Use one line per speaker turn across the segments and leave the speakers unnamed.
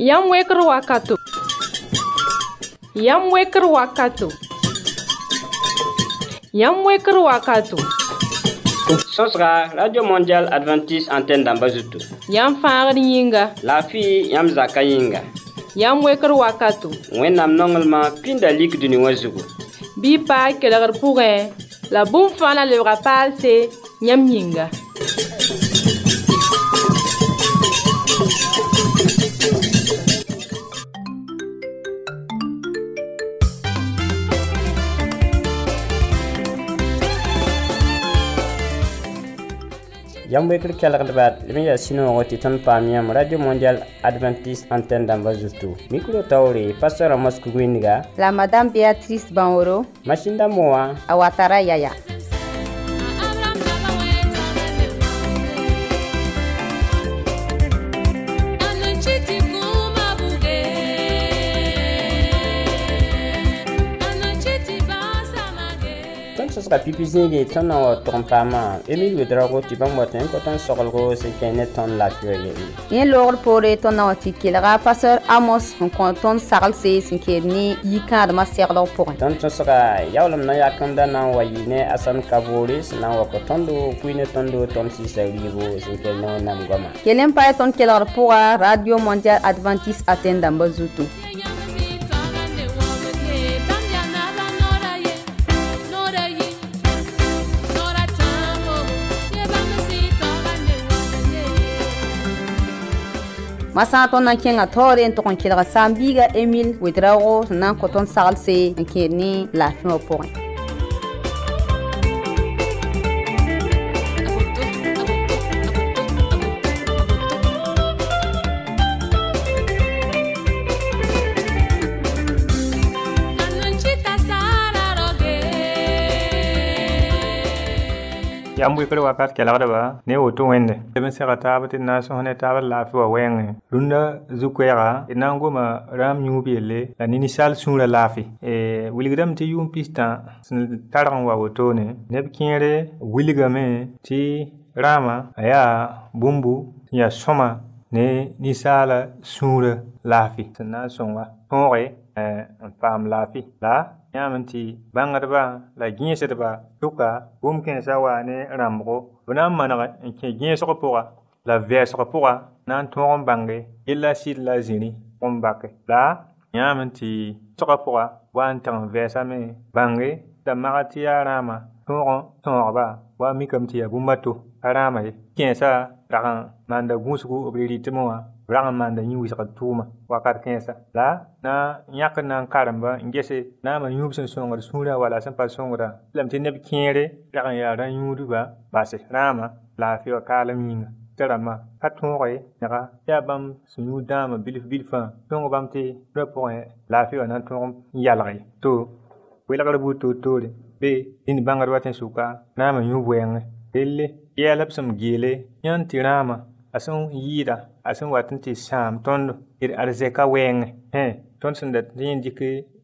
Yam weker wakato. Yam weker wakato. Yam weker wakato.
Sosra Radio Mondial Adventiste Antenne d'Ambazutu.
Yam faagd yĩnga.
La fi yam zaka yĩnga.
Yam weker wakato.
Wẽnnaam nonglema pĩnda lik dũni wã zugu.
Bɩ paa kelgr pʋgẽ la bũmb fãa la lebga paalse yãmb yĩnga.
Yam weker kelgd baat lem ya sino tɩ tõnd paam yãmb Radio Mondial Adventiste Antenne d'Ambazutu. Mikro taoore Pastor Amos Kugwiniga
la Madame Béatrice Banoro
Mashinda Moa
Awatara Yaya.
Sosra pipi zĩige tõnd na wa tʋg n paama Emile wedrago tɩ bãmb wa tẽn tõnd soglgo sẽn kẽ ne tõnd laafɩ yelle.
Yẽ loogr poore tõnd na wa tɩ kelga Pastor Amos n kõ tõnd saglse sẽn keed ne yi-kãadmã segdg pʋgẽ.
Tõnd sõsga yaoolem na yakẽmda na n wa yɩ ne Asan Kaboore sẽn na n wa kõ tõnd pʋɩ ne tõnd sɩsa rɩɩbo sẽn kell ne Wẽnnaam goamã.
Kell n pa y tõnd kelgr pʋga Radio Mondial Adventiste Antenne d'Ambazutu. Masã tõnd na n kẽnga taoore n tʋg n kelga saam-biiga Emile wedrago sẽn na n kõ tõnd saglse n kẽed ne laafɩ wã pʋgẽ.
Yam weker wakat kelgda ba ne woto wẽnde leb n sega taab tɩ d na n sõs ne taab d laafɩ wa wɛɛngẽ rũndã zu-koɛɛga d na n goma rãam yũub yelle la ne ninsaal sũurã laafɩ wilgdame tɩ yʋʋm pis-tã sẽn targ n wa wotone neb kẽere wilgame tɩ rãamã a yaa bũmbu sẽn yaa sõma ne ninsaala sũurã laafɩ sẽn na n sõnga tõoge n paam laafɩ la yãmb tɩ bãngdbã la gẽesdbã tʋka bũmb kẽensã wa ne rãmbgo b na n maneg n kẽ gẽesg pʋga la vɛɛsg pʋga na n tõog n bãnge yella sɩd la zĩri n bake la yãmb tɩ tʋga pʋga wa n tag n vɛɛsame bãnge la magd tɩ yaa rãamã tõog tõogba wa mikame tɩ yaa bũmba to a rãamã ye kẽensã rag n maanda gũsgu b rɩtmẽ wã rag n maanda yĩ-wɩsgd tʋʋma wakat kẽensa la na yãkd na n karemba n gese naamã yũub sẽn sõngd sũurã wala sẽn pa sõngda lame tɩ neb kẽere rag n yaa rã-yũudbã base rãamã laafɩ wa kaalem yĩnga tɩ rãmbã pa tõoge nega yaa bãmb sẽn yũud dãambã bilf-bilfã tõng bãmb tɩ rã pʋgẽ laafɩ wa na n tõog n yalg ye to welgr buud toor-toore be dĩnd bãngdbã tẽ sʋka naamã yũub wɛɛngẽ relle yɛɛl b sẽn geele yãnd tɩ rãamã a sẽn yɩɩda a sẽn wat n tɩ sãam tõnd d arzɛka wɛɛngẽ tõnd sẽn dat tɩ yẽ dɩk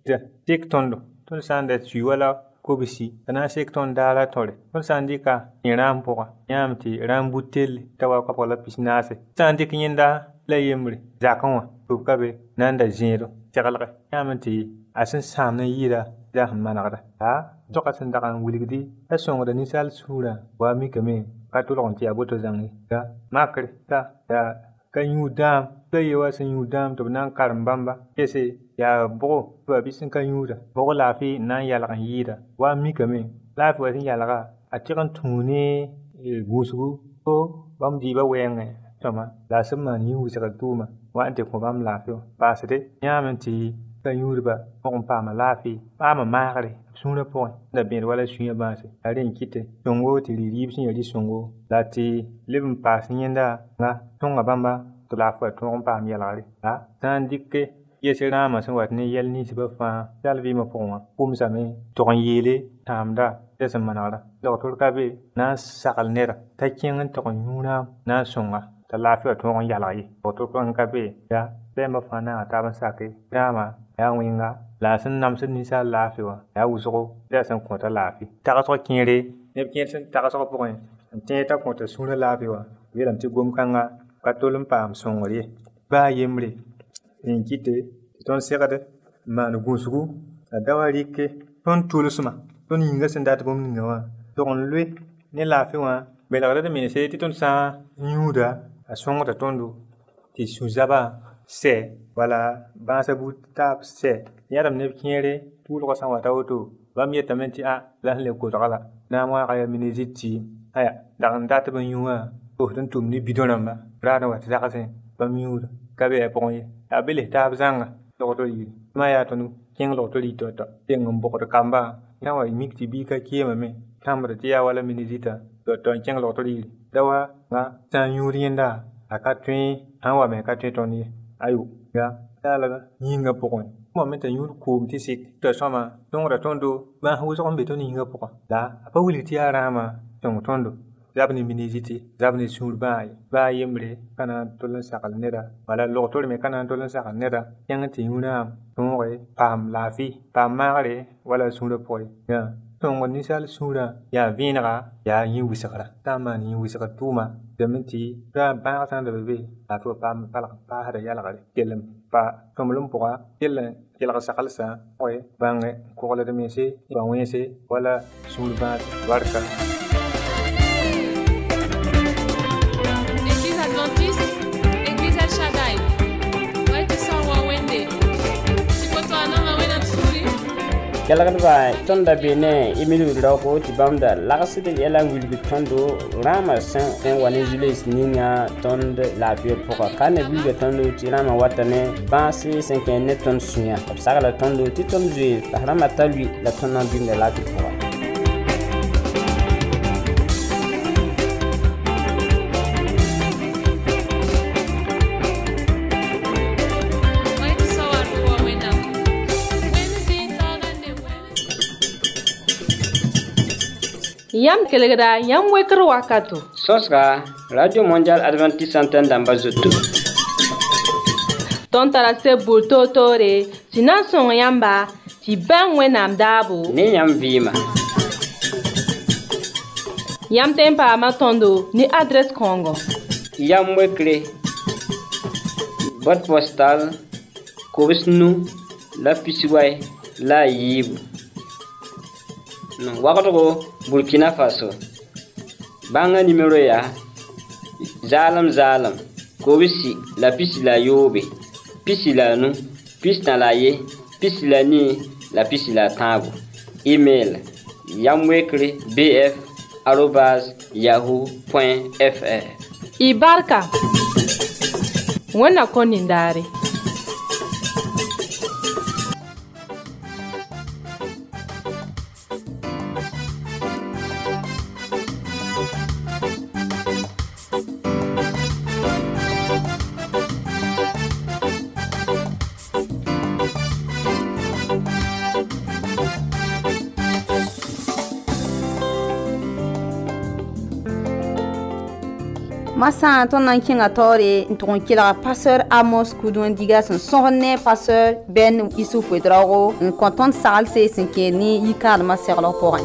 sek tõndo tõnd sã n dat sui wala kobsi t'a na n sek tõnd daara tõre tõnd sã n dɩka yẽ rãam pʋga yãmb tɩ rãam bút telle t'a wa kapg la pis-naase sã n dɩk yẽnda la yembre zakẽ wã tʋb ka be na n da zẽedo teglge yãmb tɩ a sẽn sãam n yɩɩda yaa sẽn manegda la zoka sẽn dag n wilgdi t'a sõngda ninsaal sũurã wa mikame ka tʋlg n tɩ yaa boto zãng ye la makre t'a yaa ka yũud dãam la ye wa sẽn yũud dãam tɩ b na n karem bãmba gese yaa bʋgo tɩ wa bɩ sẽn ka yũuda bʋg laafɩ na n yalg n yɩɩda wa mikame laafɩ wa sẽn yalga a tɩg n tũu ne gũusgu fo bãmb dɩɩbã wɛɛngẽ sõma la a sẽn maan yĩ-wɩsgd tʋʋma wa n tɩ kõ bãmb laafɩ wã paasde yãmb tɩ ka yũudbã mog n paama laafɩ paama maagre sũurã pʋgẽ da bẽed wala sũyã bãase a rẽ n kɩte sõngo tɩ rɩ-rɩɩb sẽn yaa rɩ-sõngo la tɩ leb n paas yẽnda nga tõnga bãmba tɩ laafɩ wa tõog n paam yɛlgre la sã n dɩke yes rãamã sẽn wat ne yɛl ninsbã fãa yal vɩɩmã pʋgẽ wã pʋmsame tʋg n yeele tãamda t'a sẽn manegra dogtr ka be na n sagl neda t'a kẽng n tʋg n yũ rãam na n sõnga t'a laafɩ wa tõog n yalg ye dogtr ka be yaa bɛɛmbã fãa na n tab n sake rãamã yaa wẽnga la a sẽn namsd ninsaal laafɩ wã yaa wʋsgo t'a sẽn kõta laafɩ tagsg kẽere neb kẽer sẽn tagsg pʋgẽ n tẽeg t'a kõta sũurã laafɩ wã yeelame tɩ gom-kãnga ka tol n paam sõngr ye baa yembre en kite ton segade man gusgu dawarike ton tulusma ton yinga sendat bom ningawa ton lwe ne lafi wa belagada de minese ti ton sa nyuda a songa tondo ti suzaba se wala bansa butab se yaram ne kiere tulo ko san wata woto bam yetamenti a la le ko dala na ma ga miniziti aya dan data ban yuwa o tan tum ni bidonamba rana wata zakase bam yuda kabe ponye abele tab zanga to yi ma ya tonu king lo to li to tengum boko kamba yawa mikti bi ka kiema me tamra tiya wala minizita to king lo to li dawa nga tan yurienda aka twin anwa me ka twin toni ayo ga dala yinga pokon mo meta yur ko mti sik to sama tongra tondo ba hu so mbe to ni yinga pokon da apa wuli ti arama tong tondo zabni miniziti zabni surbai ba yemre kana tolan sakal neda wala loktor me kana tolan sakal neda yang ti yuna tongre pam lafi pam mare wala sura poi ya tong ni sal sura ya vinra ya yi wisakara tama ni wisakara tuma dementi ra ba san de bebe afu pam pala pa hada yala gale kelem pa tomlum poa kelen yala sakal sa oi bange ko wala de mesi ba wense wala surba warka.
Kelagad ba tonda bene imilu roko tibamda lagaside yela wilbi tondo rama san wani jules ninya tonde la bier poka kane wilbi tondo tirama watane basi 5 net ton sunya sagala tondo titom jui rama talwi la tonna binde la poka
Yam kelegda yam wekro wakato.
Sosga Radio Mondial Adventist Antenne d'Ambazoto.
Ton tarase bulto tore, sinan son yamba, ti ben wenam dabo.
Ne yam vima.
Yam tempa matondo ni adresse Congo.
Yam wekre. Boîte postale Kobisnu la Pisiway la Yib. No wakato Burkina Faso. Banga numéro ya Zalam Kobisi la pisi la yobe. Pisi la nu, pisi na la ye, pisi la ni, la pisi la tabu. Email yamwekre@yahoo.fr.
Ibarka. Wana konindare.
Massa ton nankinga tore ton kila pasteur Amos Kudun diga son sonne pasteur Ben Issouf Wedrago un content salse sinkeni yikal ma serlo porin.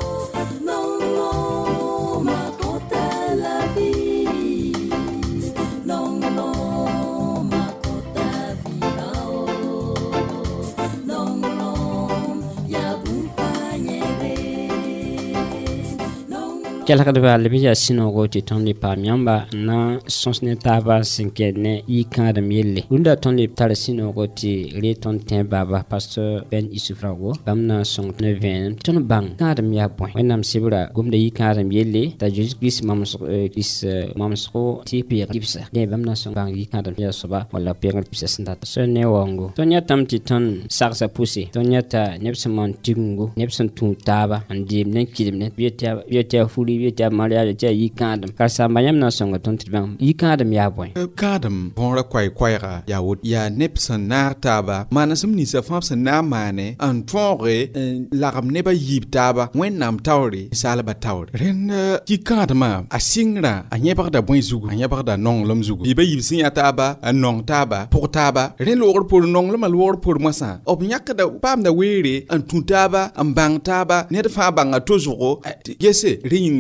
Kelagad ba lebiya sinogo ti tonli pamyamba na sonsne taba sinkene yikadam yelle unda tonli tar sinogo ti le ton ten baba pasteur Ben Isufrago bamna song ne ven ton bang kadam ya point wenam sibura gumde yikadam yelle ta Jesus Christ mamsko ti pir gipsa de bamna song bang yikadam ya soba wala pir gipsa sinda so ne wango tonya tam ti ton saksa pusi tonya ta nepsamon tingu nepsan tu taba andi ne kidim ne bieta fuli ta maria ja yikadam karsa mayam na songa ton tibam yikadam ya boy
kadam bonra kwai ga ya wot ya nepson nar taba manasum ni sa famsa na mane an tonre lagam ne ba yib taba wen nam tawri salaba tawri ren yikadama asingra anya bagda boy zugu anya bagda nong lom zugu iba yib sin ya taba an nong taba pour taba ren logor pour nong lom logor pour masa ob nyakda pam da were an tuntaba an bang taba ne fa banga tozugo gese ring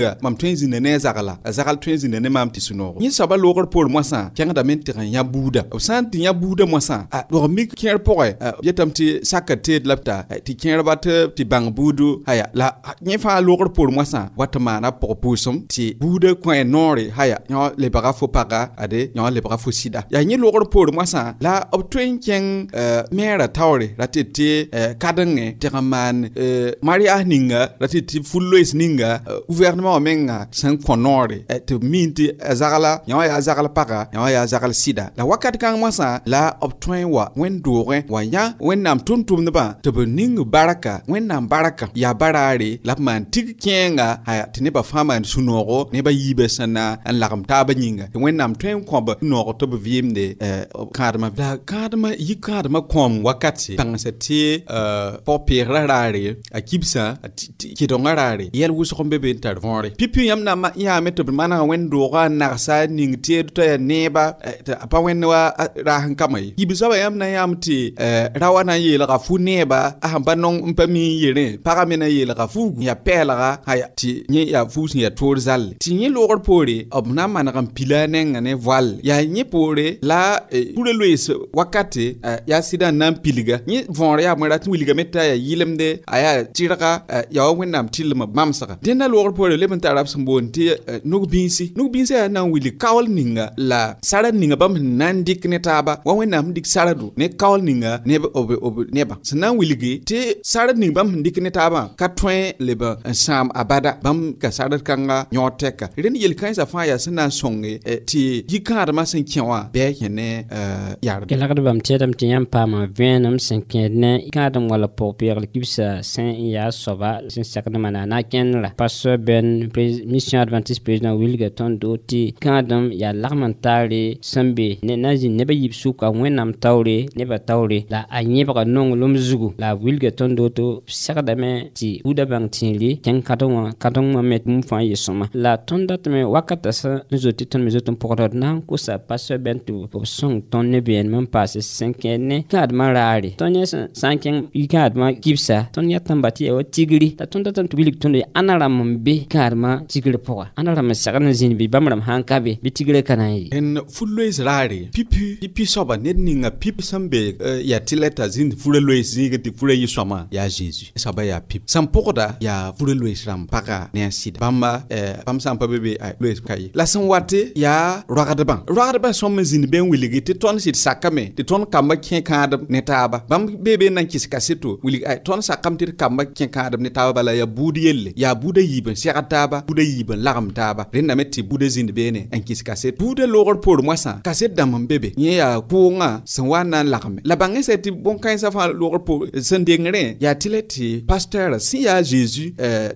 ninga mam tõe n zĩnda ne a zagla a zagl tõe n zĩnda ne maam tɩ sũ-noogo yẽ soaba loogr poor moasã kẽngdame tɩg n yã buuda b sã n tɩ yã buuda moasã dog mik kẽer pʋgẽ yetame tɩ saka teed la b ta tɩ kẽerba tɩ bãng buudu haya la yẽ fãa loogr poor moasã wa tɩ maana pʋg pʋʋsem tɩ buuda kõ noore haya yõ lebga fo paga ade yõ lebga fo sɩda yaa yẽ loogr poor moasã la b tõe n kẽng meera taoore ra tɩ tɩ kadengẽ tɩg n maan marias ninga ra tɩ tɩ fu-loees ninga gouvernement wã menga sẽn kõ noore tɩ b miin tɩ a zagla yõ yaa zagl paga yõ yaa zagl sɩda la wakat kãng moasã la b tõe wa wẽn-doogẽ wa yã wẽnnaam tʋm-tʋmdbã tɩ b ning barka wẽnnaam barka yaa baraare la b maan tig kẽenga tɩ nebã fãa maan sũ-noogo nebã yiibã sẽn na n lagem taabã yĩnga tɩ wẽnnaam tõe n kõ-b noogo tɩ b vɩɩmde kãadmã la kãadmã yi kãadmã kõom wakate tãngsa tɩ pʋg-peegrã raare a kibsã kɩdongã raare yɛl wʋsg n be be n tar võore pipi yãmb na yãame tɩ b manega wẽn-doogã n nagsa ning teed t'a yaa neeba a pa wẽnd wa raas n kama ye yib-soabã yãmb na yãmb tɩ ra wa na n yeelga fu neeba a sẽn pa nong n pa mi n yerẽ pagã me na n yeelga fuugu yaa pɛɛlga tɩ yẽ yaa fuug sẽn yaa toor zalle tɩ yẽ loogr poore b na n maneg n pila a nengã ne voal yaa yẽ poore la pura loees wakate yaa sɩda n na n pilga yẽ võor yaa bõe rat n wilgame t'a yaa yɩlemde a yaa tɩrga yaa wa wẽnnaam tɩllem b mamsga dẽnda loogr poore leb n tara b sẽn boond tɩ nug-bĩisi yaa na n wilg kaool ninga la sarad ninga bãmb sẽn na n dɩk ne taaba wa wẽnnaam sẽn dɩk sarado ne kaool ninga neb nebã sẽn na n wilge tɩ sarad ning bãmb sẽn dɩk ne taabã ka tõe leb n sãam abada bãmb ka sarad kãnga yõ tɛka rẽnd yel-kãensã fãa yaa sẽn na n sõnge tɩ yi-kãadmã sẽn kẽ wã bɩ a kẽ ne yard
kelgdbam tɩɩdame tɩ yãmb paama vẽenem sẽn kẽed ne kãadem wala pʋg-peegl kibsã sẽn n yaa soaba sẽn sakd mana na kẽnera pastor ben mission adventiste président wilga tõnd do tɩ kãadem yaa lagm n taare sẽn be na n zĩnd nebã yib sʋka wẽnnaam taoore nebã taoore la a yẽbga nonglem zugu la wilga tõnd do tɩ segdame tɩ buudã bãng tĩiri kẽng kãdeng wã me bũmb fãa yɩ sõma la tõnd datame wakata sẽn zot tɩ tõnd me zot n pʋgda d na n kosa pastor ben tɩ b sõng tõnd ne beenem n paase sẽn kẽed ne kãadmã raare tõnd yẽ sã n kẽng kãadmã kibsa tõnd yã tãmba tɩ yaa wa tigri la tõnd datame tɩ wilg tõnd ãna rãmb n be kãadmã tigr pʋga ãna rãmb n segd n zĩnd bɩ bãmb rãmb sãn ka be bɩ tigrã ka na n yɩ
n fu-loees raare pipi soaba ned ninga pip sẽn be yaa tɩ la t'a zĩnd fura loees zĩig tɩ fura yɩ sõama yaa zeezi soaba yaa pip sẽn pʋgda yaa fura loees rãmb paga ne a sɩda bãmb sã n pa be loees ka ye la sẽn wate yaa roagdbã sõm n zĩnd be n wilgi tɩ tõnd sɩd sakame tɩ tõnd kambã kẽ kãadem ne taaba bãmb be n na n kɩs kaseto wilg tõnd sakame tɩ d kambã kẽ kãadem ne taaba bala yaa buud yelle yaa buudã yiib n segd taaba buudã yiib n lagem taaba rẽndame tɩ buudã zĩnd beene n kɩs kaset buudã loogr poor moasã kaset dãmb n be be yẽ yaa kʋʋngã sẽn wa n na n lagme la bãngẽ sɛ tɩ bõn-kãensã fãa loogr poor sẽn dengrẽ yaa tɩ la tɩ pasteur sẽn yaa zeezi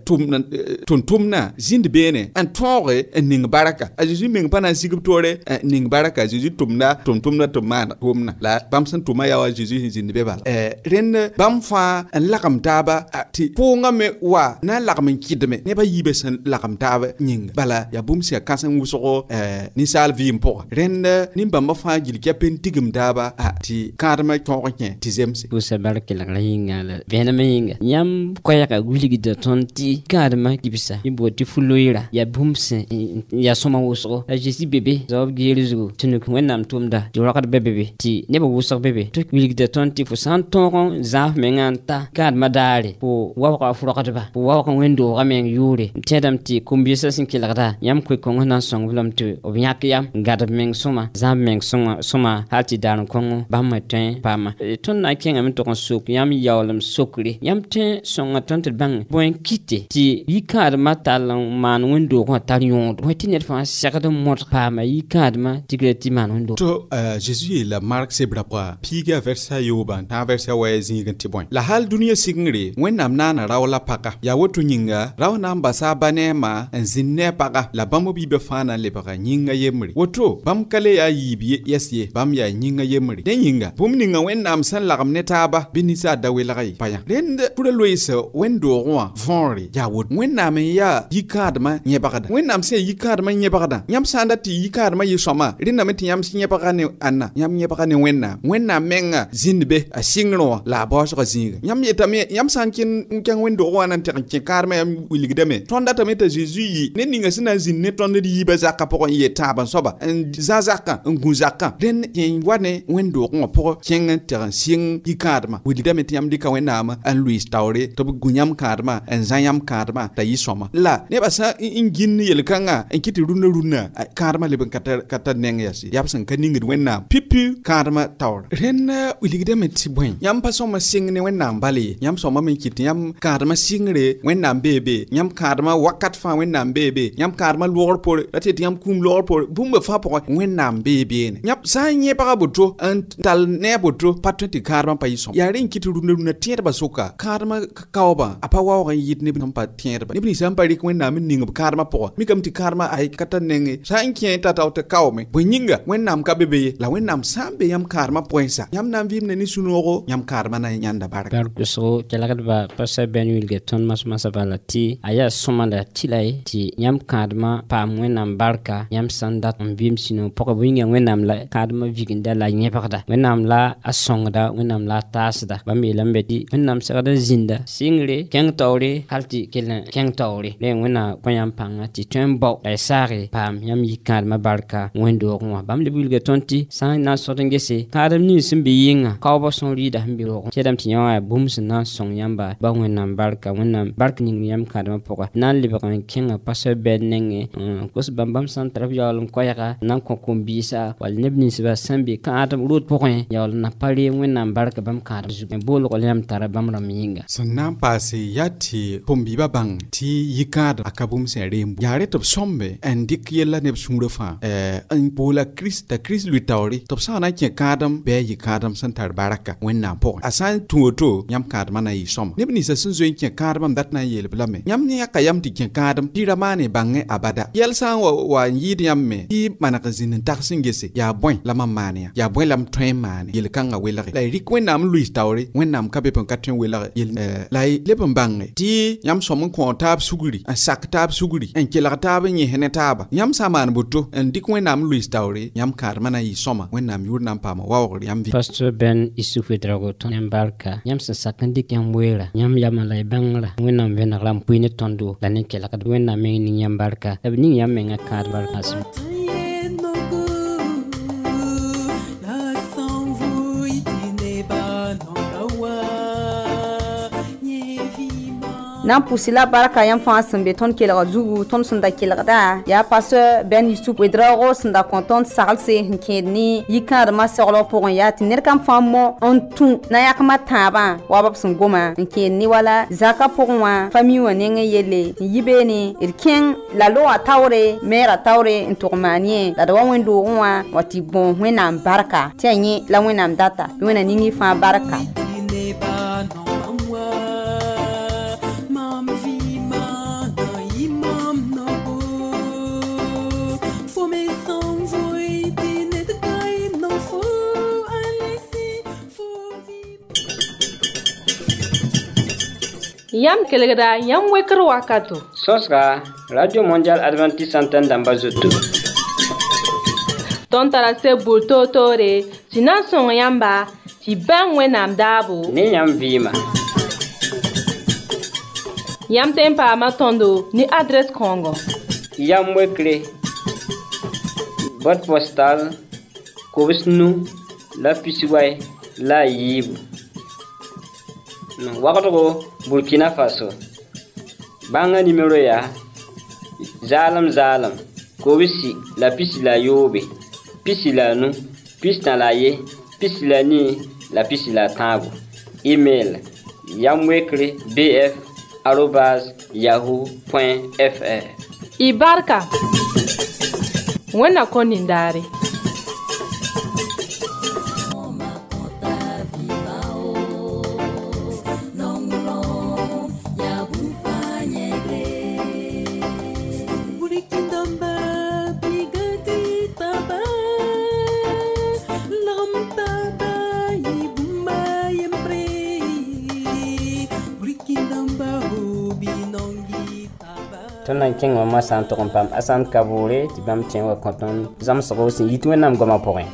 tʋm-tʋmdã zĩnd beene n tõoge n ning barka a zeezi meng pa na n sigb toore ning barka a zeezi tʋmda tʋm-tʋmdã tɩ b maan tʋʋmdã la bãmb sẽn tʋma yaa wa zeezi sẽn zĩnd be bala rẽnd bãmb fãa n lagem taaba tɩ pʋʋngã me wa na n lagem n kɩdme nebã yiibã sẽn lagem taaba yĩnga bala yaa bũmb sẽn yaa kãsem wʋsgo ninsaal vɩɩm pʋga rẽnd nin-bãmbã fãa gil kɛ pen tigem taaba tɩ kãadmã tõog kẽ tɩ zemse
pʋʋsa bar kelgrã yĩnga la vẽenemã yĩnga yãmb koɛɛga wilgda tõnd tɩ kãadmã kibsa yẽ boond tɩ fu-loeera yaa bũmb sẽn yaa sõma wʋsgo la zeezi bebe zaob geer zugu tɩ nuk wẽnnaam tʋʋmda tɩ rogd be bebe tɩ nebã wʋsg bebe tɩ wilgda tõnd tɩ fo sã n tõog n zãaf mengã n ta kãadmã daare fo waoogã f rogdba fo waoog n wẽn-doogã meng yʋʋre tẽedame tɩ kom-biasã sẽn kelgda yãmb koe-kõngs na n sõng lame tɩ b yãk yam n gãdb meng sõma zãab meng sõma hal tɩ daar n kõngo bãmb me tõe paama tõnd na n kẽngame tog n sok yãmb yaoolem sokre yãmb tõe sõnga tõnd tɩ d bãng bõe n kɩte tɩ yi-kãadmã tall n maan wẽn-doogã tar yõod bõe tɩ ned fãa segd n mõd paama yi-kãadmã tigra tɩ maan wẽn-doog
tɩ zeezi yeela mark sebra pʋga piiga vɛrsa yoobã tã vɛrsa wa zĩig n tɩ bõe la hal dũniyã sigengre wẽnnaam naana rao la paka yaa woto yĩnga rao na n basa a ba neemã n zĩnd ne a paga la bãmb b yiibã fãa na n lebga yĩnga yembre woto bãmb ka le yaa yiib yɛs ye bãmb yaa yĩnga yembre dẽ yĩnga bũmb ninga wẽnnaam sẽn lagem ne taaba bɩ ninsaal da welga ye pa yã rẽnd pʋra loees wẽn-doogẽ wã võore yaa woto wẽnnaam n yaa yi-kãadmã yẽbgda wẽnnaam sẽn yaa yi-kãadmã yẽbgdã yãmb sã n dat tɩ yi-kãadmã yɩ sõma rẽndame tɩ yãmb sẽn yẽbga ne ãnna yãmb yẽbga ne wẽnnaam menga zĩnd be a sɩngrẽ wã la a baoosga zĩiga yãmb yetame yãmb sã n kẽng wẽn-doogẽ wã na n teg n kẽ kãadmã yãmb wilgdame tõnd ratame t'a Jésus yi ne ninga sina zin ne ton di ba zaka pokon ye taban soba en zazaka en guzaka den yen wane wendo ko poko kengen ter sing ikadma wili dame tiam dika wenama en Louis Taure to gunyam kadma en zanyam kadma ta yi soma la ne ba sa ingin yel kanga en kiti runa kadma le ban kata neng yasi yapsan kaningi wenna pipi kadma Taure ren wili dame ti bwen yam pa soma sing ne wenna bali yam soma men kiti yam kadma singre wenna bebe yam kadma wakat fa wenna bebe yam kadma lor por ati yam kum lor por bumba fa por wenna bebe ne yap sa nye pa butro en tal ne butro patati kadma pa yisom ya ren kiti runa tier ba soka kadma kawba apa wa yit ne bin pa tier ba ni bin sam pa rik wenna min ninga kadma por mi kam ti kadma ai kata nenge sa inke ta ta kawme bunyinga wenna ka bebe la wenna sambe yam kadma poinsa yam nam vim ne ni sunoro yam kadma na nyanda barka
so kelagat ba pasa ben wilge ton mas bala ti aya somanda tilai ti yam kadma pa wenam barka yam sandat vim sino poko winga wenam la kadma viginda la nyepakda wenam la asongda wenam la tasda bambe lambe di wenam sagada zinda singre keng tawre halti keng tawre le wena payam panga ti tembo ay sare pam yam yikadma barka wendo ko bamle wilge tonti sa na sotengese kadam ni simbe yinga kawba son rida mbiro kedam ti nyawa bums na song yamba ba wenam barka ning yam kadma poka nan liba kan kenga pasa benenge kos bambam san trap yalum koyaka nan ko kombisa wal nebni siba sambi ka atam rut pokon yal na pali wenam barka bam kadma zuken bol ko yam tara bam raminga
sannan pase yati pombi babang ti yikad akabum se rembu yare top sombe en dik yella ne sumro fa en pola krista lui tawri top sana ke kadam be yikadam san tar baraka wenam pokon asan tuoto yam kadma na yi som nebni sa sun zoin ke kadam dat na yel blame yam ne aka yam ti ke kadam tiramane bange abada yel san wa yid yam me ti manaka zinin taksin gese ya boy la mamane ya boy lam train man yel kanga welare la rikwenam lui tawri wenam kabe pon katwen welare yel lai lebon bange ti yam som ko tab suguri an sak tab suguri en kela tab ni hene taba yam saman buto en dikwenam lui tawri yam kadma na yi soma wenam yurnam pama wawr yam vi
pastor ben isufu drago ton embarka yam sa sakandik yam wera yam yamalay bangra wenam venaglam puine tondo la ne kela kad wenam ni yam barka abni yam menga kad barka sim
nan pusila baraka yam fa sambe ton kela zugu ton sunda kela da ya pasteur ben Yusuf wedrago sunda konton salse nkeni yikar ma solo pour ya tinir kam famo on tun na yakma taba wa bab sun goma nkeni wala zaka pour wa famille wa nenge yele yibeni irken la lo atawre mera tawre ntourmanie la do wendo wa wati bon wena baraka tienyi la wena data wena ningi fa baraka
yam kelegda yam wekr wakato
soska radio mondial adventiste antenne d'ambazoto
ton tara se bulto tore sinan son yamba ti ban wenam dabu
ni yam vima
yam tempa ma tondo ni adresse kongo
yam wekre boîte postale Kobisnu la pisiway la yib no wakato Burkina Faso banga numéro ya zalam Kobisi la pisi la yobe pisi la nu pisi na la ye pisi la ni la pisi la tabu email yamwekre@yahoo.fr
ibarka wena konindare
ton nan king ma san to pam asan kabure ti bam tien wa konton zam so si yitwe nam goma porin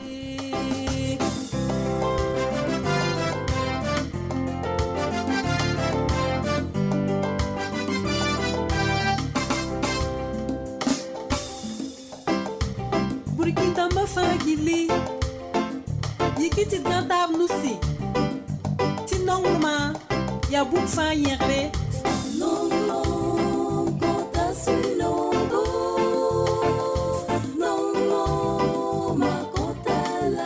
ba fa gili yikiti gantab nusi ti nongma ya bu fa yere non non kota sinogo non non ma kota la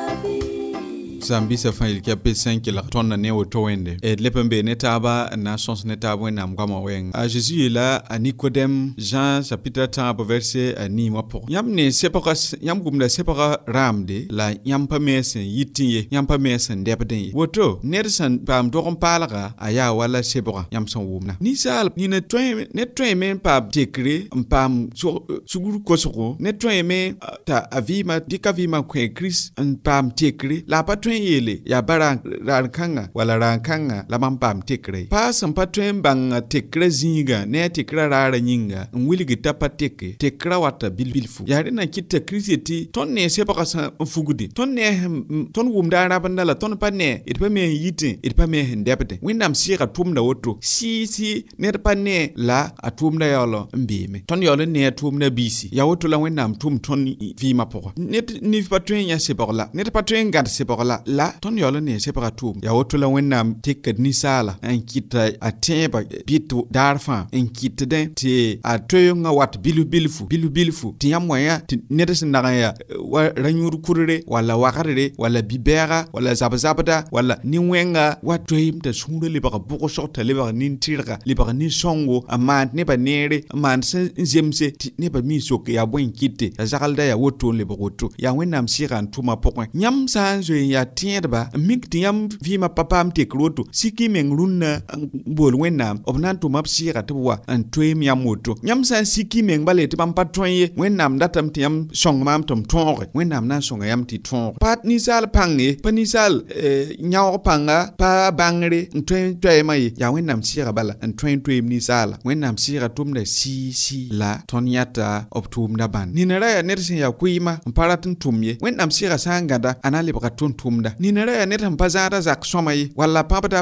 vie
Zambi sa fan il kia pe 5 la ton na ne woto wende et lepembe ne taba na sons ne taba na mkama weng a Jésus est là à Nicodème Jean chapitre 30 verset ni mo pour yam ne separa yam gumda separa ramde la yam pa mesen yitinye yam pa mesen debden woto nersan pam do kompalaga aya wala separa yam son wumna ni sal ni ne train men pa dekre pam suguru kosoko ne train men ta avima dikavima kwe Chris pam tekre la pa train yele ya bara rankanga wala rankanga la pam tekre pa sam pa train bang tekre zinga ne tekra rara nyinga nwili tapa tekra wata bilfu ya rena kitta krisiti ton ne se pa sa fugudi ton ne ton wumda rabanda la ton pa ne it pa me yitin it pa me ndepte windam sira tumda woto si ne pa ne la atumda yolo mbime ton yolo ne tumda bisi ya woto la windam tum ton vi ma poko net ni pa train ya se pa la net pa train gad se pa la ton yolo ne se pa tum ya woto la windam tekad ni sala en kita atemba bitu darfa en kita den ti a toyonga wat bilfu ti yamwaya ti nedesin daga ya ranyur kurere wala wakarere wala bibera wala zabada wala niwenga wat toyim ta sunde le baka boko shota le baka nin tirga le baka nin songo amant ne ba nere amant zemse ti ne ba mi soke ya bwen kite ya zakalda ya woto le boko ya wenam siran tuma pokwa nyam sanzo ya tiendba mik ti yam vima papam te kroto siki mengrunna bol wenam obnan tuma sira twa an toyim ya moto nyam san siki meng bale ti pam patroye wenam datam ti yam song mam tom tonre wenam na songa yam ti ton pat ni sal pange panisal nyaw panga pa bangre toy mai ya wenam sira bala an toy ni sala wenam sira tumda si la tonyata optum da ban ni nara ya nersin ya kuima paratin tumye wenam sira sangada anali baka tumda ni nara ya netam pazara zak somai wala pabda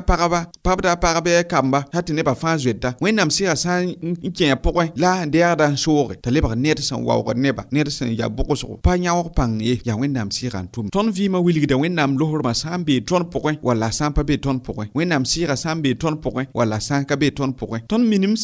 parabe kamba hati ne ba fa zweta wenam sira san nkenya pokwe la ndeada sore taleba net san wawo neba net san ya bokoso pa nyawo pang ya wenam sira tum ton vima wiligida wenam lohor ma sambe ton pokwe wala sampa be ton pokwe wenam sira sambe ton pokwe wala sanka be ton pokwe ton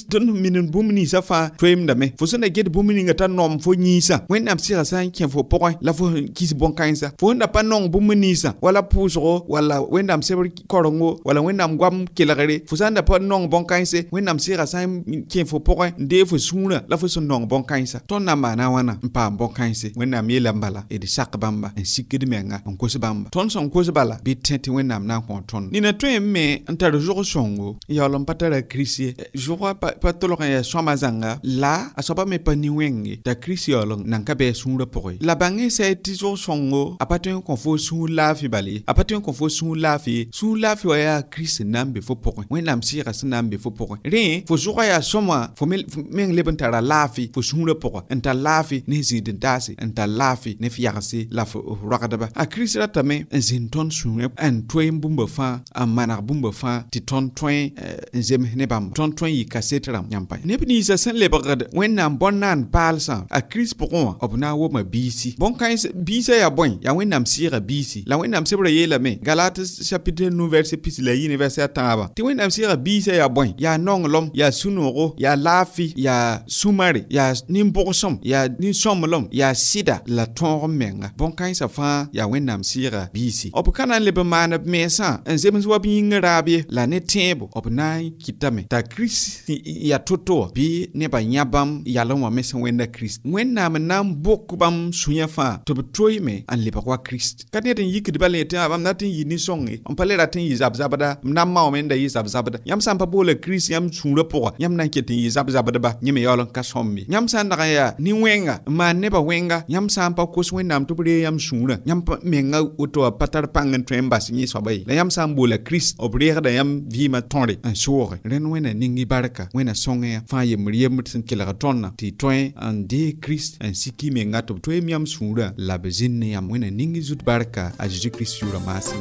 minim bumni safa twem dame fo sona get bumni ngata nom fo nyisa wenam sira san ken fo pokwe la fo kis bon kansa fo nda pa non bumni sa wala pusro wala wenam seber korongo wala wenam gwam kelagare fo sanda pa non bon kanse wenam sira san ken fo pokwe nde fo suna la fo son non bon kansa ton na mana wana mpa bon kanse wenam yela mbala e de sakbamba en sikidi menga on kosbamba ton son kosbala bi tenti wenam na kon ton ni na twem me antar jour songo ya lom patara krisi jour pa toloka ya somazanga la asoba me pa ni wenge ta krisi yolong nanka be sunra pokoi la bangi se ti jour songo apaten kon fo sun la fi bali apaten kon fo sun la fi wa ya krisi nambe fo pokoi wenam sira sanambe fo pokoi re fo jour ya soma fo men leben tara lafi fo sunra pokoi enta lafi ne zidin dasi enta lafi ne fiarsi la fo rakadaba a krisi ratame zin ton sunre en toy bumba fa a manar bumba fa ti ton toy zem ne bam ton toy yi kasetram nyampa ne bini sa sen le bagad wenam bonnan palsa a kris pokon obna wo ma bisi bon kan bisa ya bon ya wenam sira bisi la wenam sebra yela me galates chapitre 9 verset pis la yin verset taba ti wenam sira bisa ya bon ya nonglom ya sunoro ya lafi ya sumari ya nimbosom ya ni somlom ya sida la ton menga bon kan sa fa ya wenam sira bisi op kana le be mana mesa en zems wa bi ngarabi la ne tembo op nai kitame ta kris ya toto bi ne ba nyabam ya lo ma mesa wenda kris wenna nam bokubam sunya fa to betroy me an le ba kwa kris kadne den yikidi bale te abam natin yini songi on pale ratin yi zabada nam ma o menda yi zabada yam sam pa bole kris yam sunra po yam nan ketin yi zabada ba nyime yolon ka sommi yam san daga ya ni wenga ma ne ba wenga yam sam pa ko wenam to bre yam sunra yam menga uto patar pangen trembas ni sobai la yam sam bole kris obriere da yam vima tonre en sore ren wena ningi baraka wena songe fa yem riem tin kila tonna ti toin an de kris en siki menga to toy yam sunra la bezin yam wena ningi zut baraka a Jésus Christ yura masi.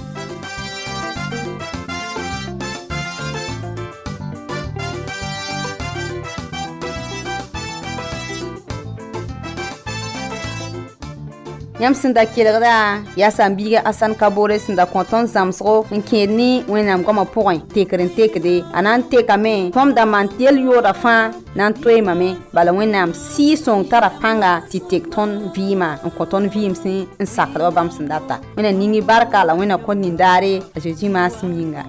yam sẽn da kelgda yaa sãn-biiga asan kabore sẽn da kõ tõnd zãmsgo n kẽed ne wẽnnaam goamã pʋgẽ tekd n tekde a na n tekame tõnd da maan tɩ yel-yooda fãa na n toeemame bala wẽnnaam sɩɩ-sõng tara pãnga tɩ tek tõnd vɩɩmã n kõ tõnd vɩɩmsẽ n sakdba bãmb sẽn data wẽnna ningi barka la wẽnna kõ nindaare a zeezi maasem yĩnga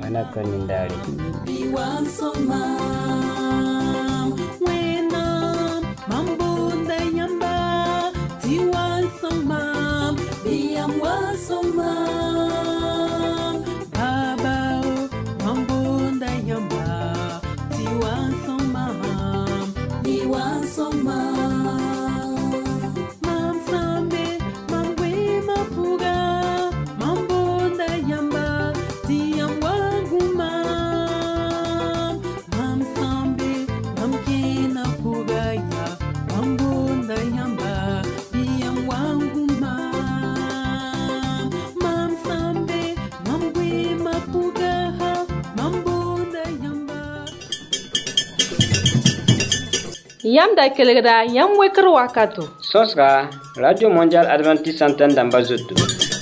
Yam da kelgda yam wekr wakato.
Sosra Radio Mondial Adventiste Antenne d'Ambazoto.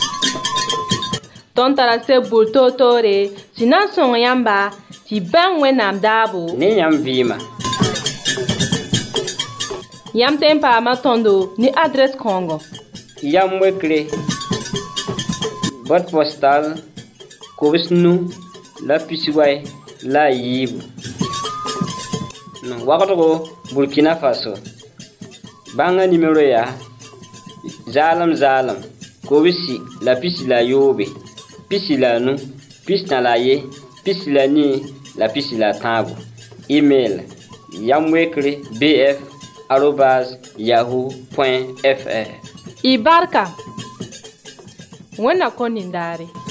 Ton tara se bulto tore, sinan son yamba, ti ben wenam dabo.
Ne yam vima.
Yam tempa ma tondo ni adresse Congo.
Yam wekre. Boîte postale Kobsnu la Pisiway la Yibu. Wakato Burkina Faso. Banga numéro ya Zalam Kobisi la pisi la yobe. Pisi la nu, pisi na la ye, pisi la ni, la pisi la tambo. Email yamwekre bf@yahoo.fr.
Ibarka. Wena konindare.